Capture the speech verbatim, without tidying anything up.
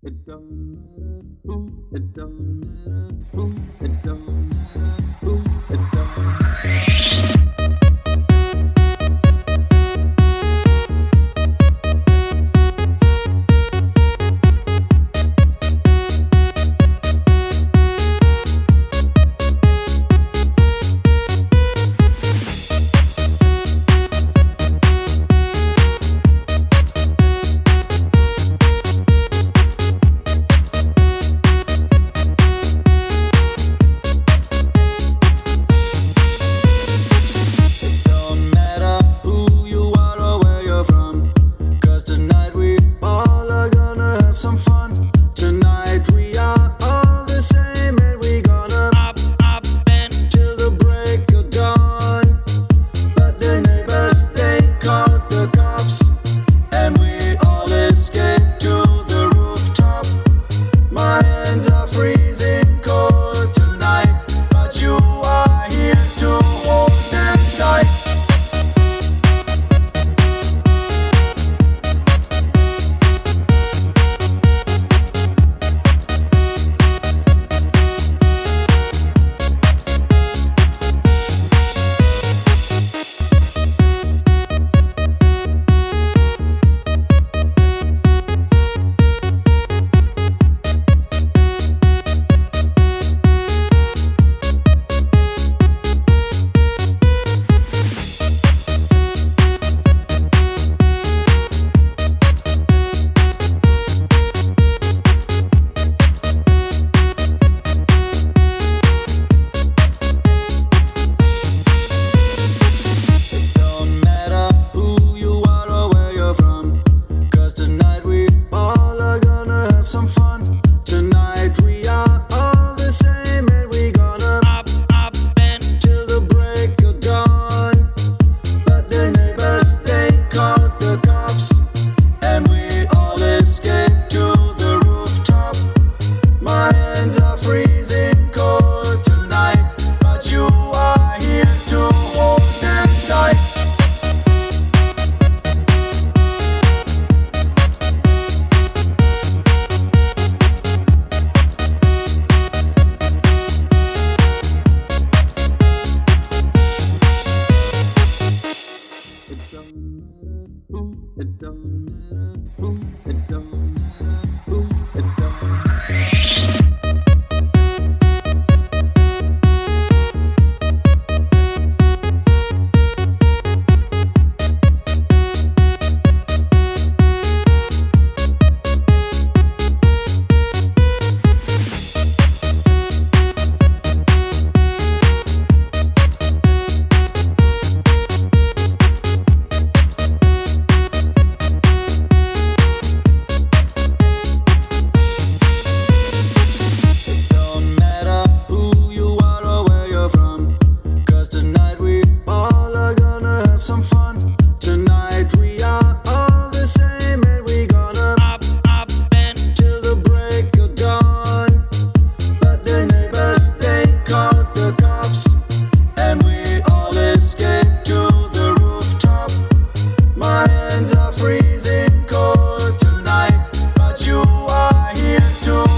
It don't matter who, it don't matter who, it don't matter who, it don't matter. It don't matter who, it don't matter who, it don't matter. Some fun tonight. We are all the same, and we gonna up, up, and till the break of dawn. But the neighbors they called the cops, and we all escaped to the rooftop. My hands are freezing cold tonight, but you are here to